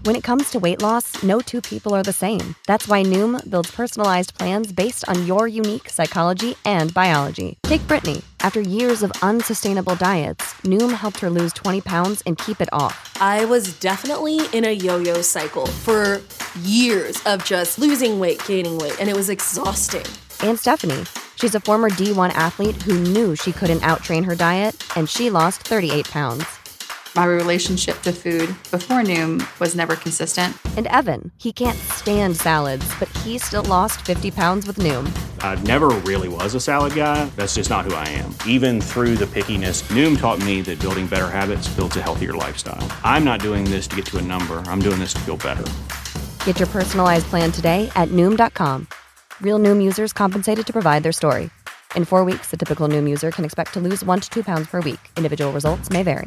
When it comes to weight loss, no two people are the same. That's why Noom builds personalized plans based on your unique psychology and biology. Take Brittany. After years of unsustainable diets, Noom helped her lose 20 pounds and keep it off. I was definitely in a yo-yo cycle for years of just losing weight, gaining weight, and it was exhausting. And Stephanie. She's a former D1 athlete who knew she couldn't outtrain her diet, and she lost 38 pounds. My relationship to food before Noom was never consistent. And Evan, he can't stand salads, but he still lost 50 pounds with Noom. I never really was a salad guy. That's just not who I am. Even through the pickiness, Noom taught me that building better habits builds a healthier lifestyle. I'm not doing this to get to a number. I'm doing this to feel better. Get your personalized plan today at Noom.com. Real Noom users compensated to provide their story. In 4 weeks, the typical Noom user can expect to lose 1 to 2 pounds per week. Individual results may vary.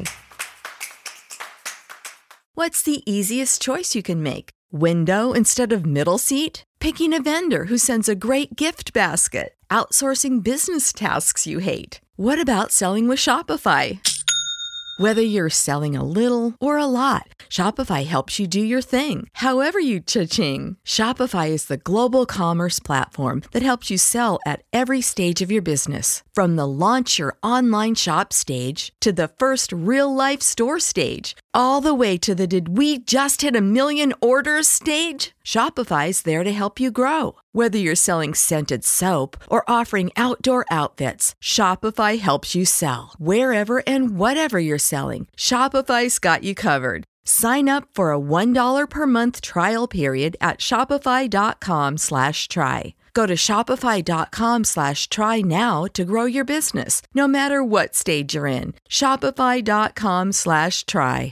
What's the easiest choice you can make? Window instead of middle seat? Picking a vendor who sends a great gift basket? Outsourcing business tasks you hate? What about selling with Shopify? Whether you're selling a little or a lot, Shopify helps you do your thing, however you cha-ching. Shopify is the global commerce platform that helps you sell at every stage of your business. From the launch your online shop stage to the first real-life store stage, all the way to the did we just hit a million orders stage? Shopify's there to help you grow. Whether you're selling scented soap or offering outdoor outfits, Shopify helps you sell. Wherever and whatever you're selling, Shopify's got you covered. Sign up for a $1 per month trial period at shopify.com/try. Go to shopify.com/try now to grow your business, no matter what stage you're in. Shopify.com/try.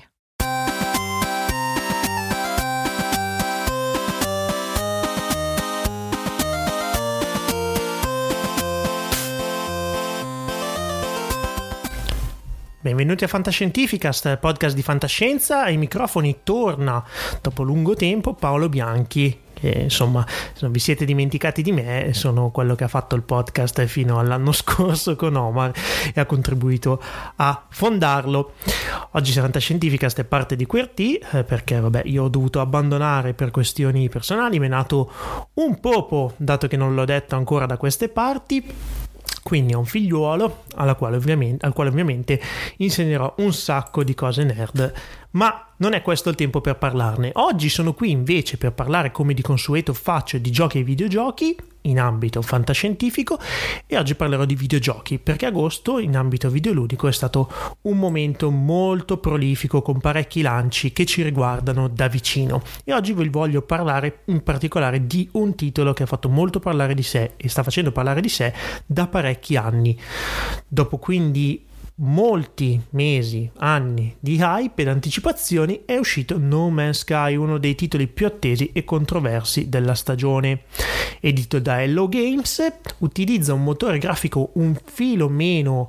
Benvenuti a Fantascientificast, podcast di fantascienza. Ai microfoni torna dopo lungo tempo Paolo Bianchi, che insomma, se non vi siete dimenticati di me, sono quello che ha fatto il podcast fino all'anno scorso con Omar e ha contribuito a fondarlo. Oggi Fantascientificast è parte di QWERTY perché vabbè, io ho dovuto abbandonare per questioni personali, mi è nato un popo, dato che non l'ho detto ancora da queste parti. Quindi ho un figliuolo al quale ovviamente insegnerò un sacco di cose nerd, ma non è questo il tempo per parlarne. Oggi sono qui invece per parlare, come di consueto faccio, di giochi e videogiochi in ambito fantascientifico, e oggi parlerò di videogiochi perché agosto in ambito videoludico è stato un momento molto prolifico con parecchi lanci che ci riguardano da vicino, e oggi vi voglio parlare in particolare di un titolo che ha fatto molto parlare di sé e sta facendo parlare di sé da parecchi anni. Dopo quindi molti mesi, anni di hype ed anticipazioni, è uscito No Man's Sky, uno dei titoli più attesi e controversi della stagione. Edito da Hello Games, utilizza un motore grafico un filo meno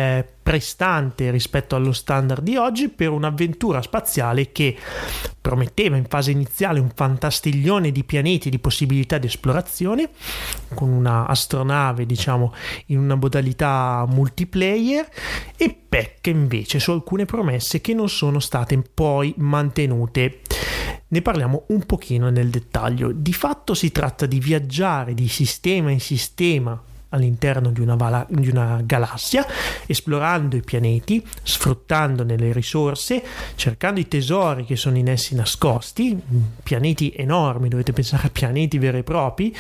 prestante rispetto allo standard di oggi per un'avventura spaziale che prometteva in fase iniziale un fantastiglione di pianeti e di possibilità di esplorazione, con una astronave diciamo in una modalità multiplayer, e pecca invece su alcune promesse che non sono state poi mantenute. Ne parliamo un pochino nel dettaglio. Di fatto si tratta di viaggiare di sistema in sistema all'interno di una galassia, esplorando i pianeti, sfruttandone le risorse, cercando i tesori che sono in essi nascosti, pianeti enormi, dovete pensare a pianeti veri e propri.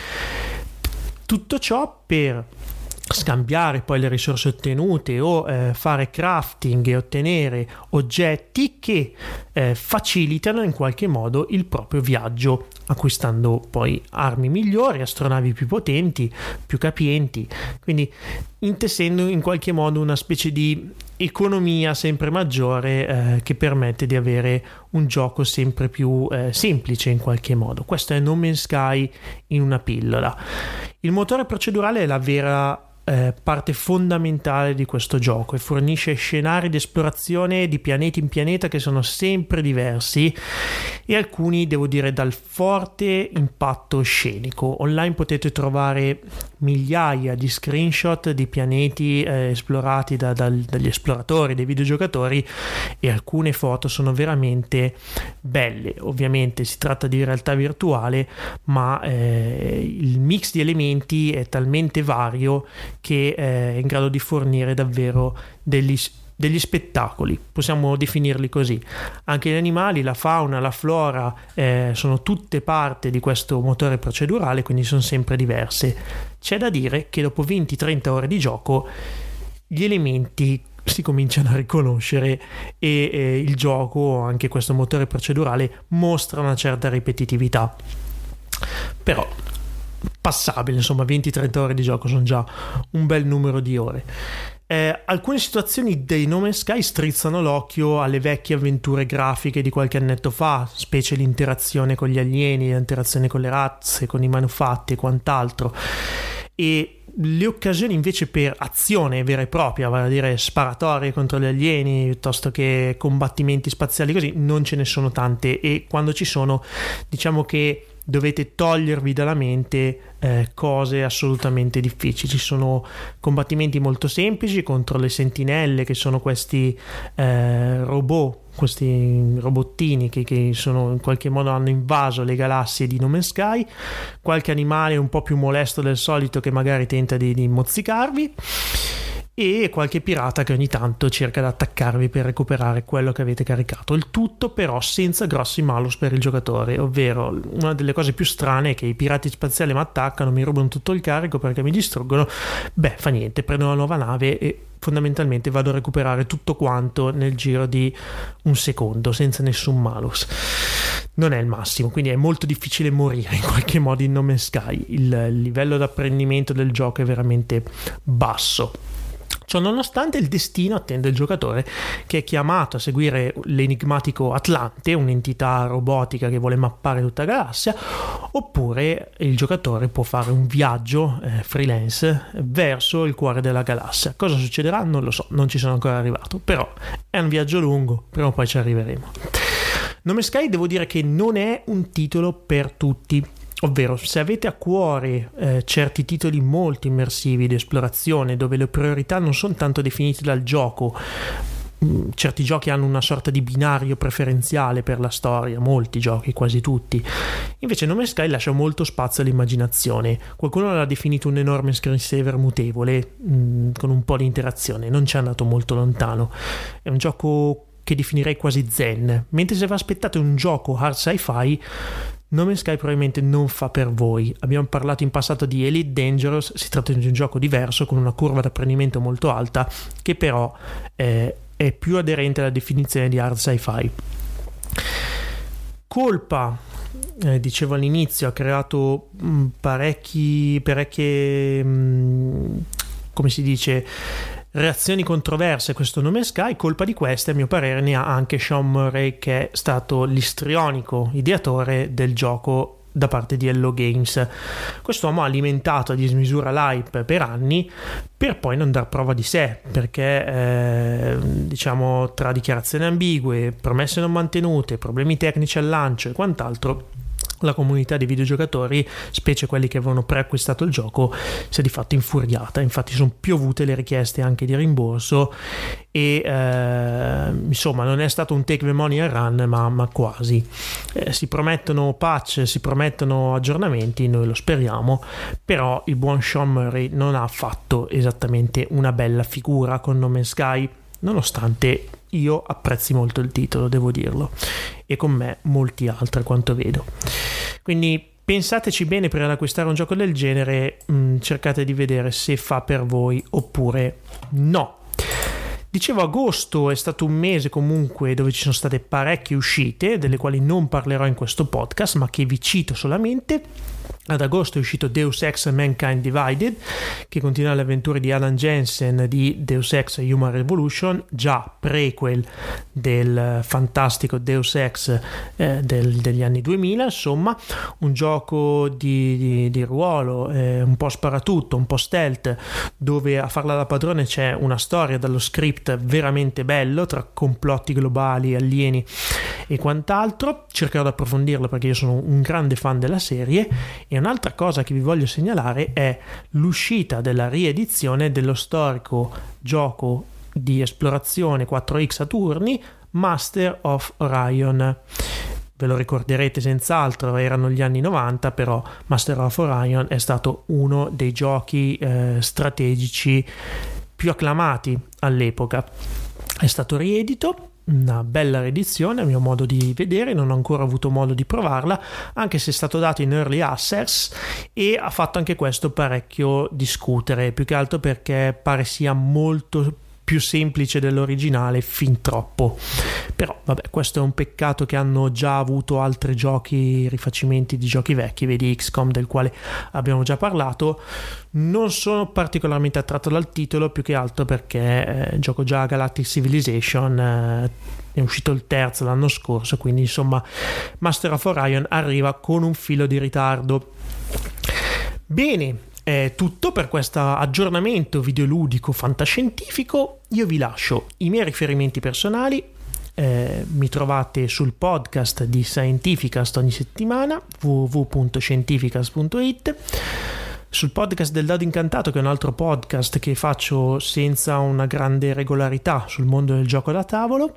Tutto ciò per scambiare poi le risorse ottenute o fare crafting e ottenere oggetti che facilitano in qualche modo il proprio viaggio, acquistando poi armi migliori, astronavi più potenti, più capienti, quindi intessendo in qualche modo una specie di economia sempre maggiore che permette di avere un gioco sempre più semplice in qualche modo. Questo è No Man's Sky in una pillola. Il motore procedurale è la vera parte fondamentale di questo gioco e fornisce scenari di esplorazione di pianeta in pianeta che sono sempre diversi e alcuni, devo dire, dal forte impatto scenico. Online potete trovare migliaia di screenshot di pianeti esplorati dagli esploratori, dei videogiocatori, e alcune foto sono veramente belle. Ovviamente si tratta di realtà virtuale, ma il mix di elementi è talmente vario che è in grado di fornire davvero degli spettacoli, possiamo definirli così. Anche gli animali, la fauna, la flora sono tutte parte di questo motore procedurale, quindi sono sempre diverse. C'è da dire che dopo 20-30 ore di gioco gli elementi si cominciano a riconoscere e il gioco, anche questo motore procedurale, mostra una certa ripetitività, però passabile. Insomma, 20-30 ore di gioco sono già un bel numero di ore. Alcune situazioni dei No Man's Sky strizzano l'occhio alle vecchie avventure grafiche di qualche annetto fa, specie l'interazione con gli alieni, l'interazione con le razze, con i manufatti e quant'altro, e le occasioni invece per azione vera e propria, vale a dire sparatorie contro gli alieni piuttosto che combattimenti spaziali così, non ce ne sono tante, e quando ci sono, diciamo che dovete togliervi dalla mente cose assolutamente difficili. Ci sono combattimenti molto semplici contro le sentinelle, che sono questi robot, questi robottini che sono in qualche modo hanno invaso le galassie di No Man's Sky, qualche animale un po' più molesto del solito che magari tenta di mozzicarvi, e qualche pirata che ogni tanto cerca di attaccarvi per recuperare quello che avete caricato. Il tutto però senza grossi malus per il giocatore, ovvero una delle cose più strane è che i pirati spaziali mi attaccano, mi rubano tutto il carico perché mi distruggono. Beh, fa niente, prendo una nuova nave e fondamentalmente vado a recuperare tutto quanto nel giro di un secondo senza nessun malus. Non è il massimo, quindi è molto difficile morire in qualche modo in No Man's Sky. Il livello d'apprendimento del gioco è veramente basso. Ciò nonostante, il destino attende il giocatore, che è chiamato a seguire l'enigmatico Atlante, un'entità robotica che vuole mappare tutta la galassia, oppure il giocatore può fare un viaggio freelance verso il cuore della galassia. Cosa succederà? Non lo so, non ci sono ancora arrivato, però è un viaggio lungo, prima o poi ci arriveremo. No Man's Sky, devo dire che non è un titolo per tutti. Ovvero, se avete a cuore certi titoli molto immersivi di esplorazione, dove le priorità non sono tanto definite dal gioco, certi giochi hanno una sorta di binario preferenziale per la storia, molti giochi, quasi tutti. Invece No Man's Sky lascia molto spazio all'immaginazione. Qualcuno l'ha definito un enorme screensaver mutevole, con un po' di interazione. Non ci è andato molto lontano. È un gioco che definirei quasi zen, mentre se vi aspettate un gioco hard sci-fi, No Man's Sky probabilmente non fa per voi. Abbiamo parlato in passato di Elite Dangerous, si tratta di un gioco diverso con una curva d'apprendimento molto alta, che però è più aderente alla definizione di hard sci-fi. Colpa, dicevo all'inizio, ha creato parecchie come si dice, reazioni controverse questo No Man's Sky. Colpa di queste, a mio parere, ne ha anche Sean Murray, che è stato l'istrionico ideatore del gioco da parte di Hello Games. Quest'uomo ha alimentato a dismisura l'hype per anni, per poi non dar prova di sé, perché diciamo, tra dichiarazioni ambigue, promesse non mantenute, problemi tecnici al lancio e quant'altro, la comunità dei videogiocatori, specie quelli che avevano preacquistato il gioco, si è di fatto infuriata. Infatti sono piovute le richieste anche di rimborso e insomma non è stato un take the money and run, ma quasi. Si promettono patch, si promettono aggiornamenti, noi lo speriamo, però il buon Sean Murray non ha fatto esattamente una bella figura con No Man's Sky, nonostante io apprezzi molto il titolo, devo dirlo, e con me molti altri, quanto vedo. Quindi pensateci bene prima di acquistare un gioco del genere, cercate di vedere se fa per voi oppure no. Dicevo, agosto è stato un mese comunque dove ci sono state parecchie uscite, delle quali non parlerò in questo podcast, ma che vi cito solamente. Ad agosto è uscito Deus Ex Mankind Divided, che continua le avventure di Alan Jensen di Deus Ex Human Revolution, già prequel del fantastico Deus Ex degli anni 2000. Insomma, un gioco di ruolo, un po' sparatutto, un po' stealth, dove a farla da padrone c'è una storia dallo script veramente bello, tra complotti globali, alieni e quant'altro. Cercherò di approfondirlo perché io sono un grande fan della serie. E un'altra cosa che vi voglio segnalare è l'uscita della riedizione dello storico gioco di esplorazione 4X a turni Master of Orion. Ve lo ricorderete senz'altro, erano gli anni 90, però Master of Orion è stato uno dei giochi strategici più acclamati all'epoca. È stato riedito, una bella riedizione a mio modo di vedere, non ho ancora avuto modo di provarla, anche se è stato dato in early access, e ha fatto anche questo parecchio discutere, più che altro perché pare sia molto più semplice dell'originale, fin troppo. Però vabbè, questo è un peccato che hanno già avuto altri giochi, rifacimenti di giochi vecchi, vedi XCOM, del quale abbiamo già parlato. Non sono particolarmente attratto dal titolo, più che altro perché gioco già Galactic Civilization, è uscito il terzo l'anno scorso, quindi insomma Master of Orion arriva con un filo di ritardo. Bene, è tutto per questo aggiornamento videoludico fantascientifico. Io vi lascio i miei riferimenti personali, mi trovate sul podcast di Scientificast ogni settimana, www.scientificast.it, sul podcast del Dado Incantato, che è un altro podcast che faccio senza una grande regolarità sul mondo del gioco da tavolo,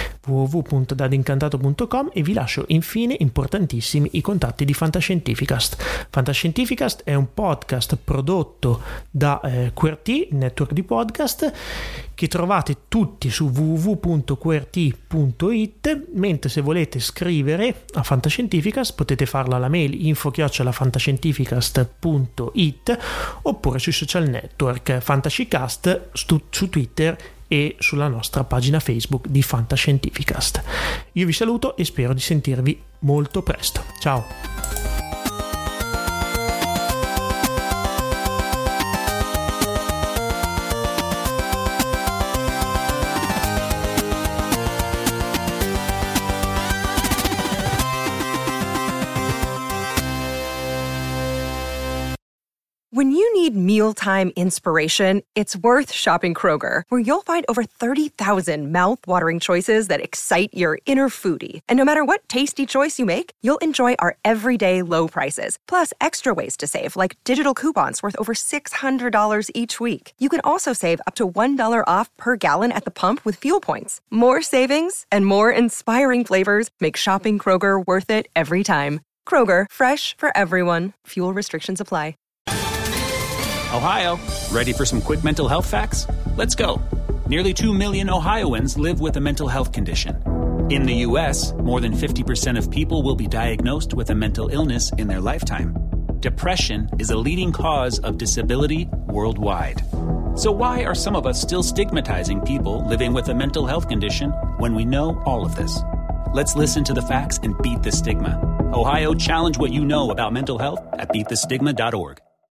www.dadincantato.com, e vi lascio infine, importantissimi, i contatti di Fantascientificast. Fantascientificast è un podcast prodotto da QWERTY, network di podcast, che trovate tutti su www.qwerty.it, mentre se volete scrivere a Fantascientificast potete farlo alla mail info@fantascientificast.it, oppure sui social network Fantascicast su Twitter e sulla nostra pagina Facebook di Fantascientificast. Io vi saluto e spero di sentirvi molto presto. Ciao! When you need mealtime inspiration, it's worth shopping Kroger, where you'll find over 30,000 mouth-watering choices that excite your inner foodie. And no matter what tasty choice you make, you'll enjoy our everyday low prices, plus extra ways to save, like digital coupons worth over $600 each week. You can also save up to $1 off per gallon at the pump with fuel points. More savings and more inspiring flavors make shopping Kroger worth it every time. Kroger, fresh for everyone. Fuel restrictions apply. Ohio, ready for some quick mental health facts? Let's go. Nearly 2 million Ohioans live with a mental health condition. In the U.S., more than 50% of people will be diagnosed with a mental illness in their lifetime. Depression is a leading cause of disability worldwide. So why are some of us still stigmatizing people living with a mental health condition when we know all of this? Let's listen to the facts and beat the stigma. Ohio, challenge what you know about mental health at beatthestigma.org.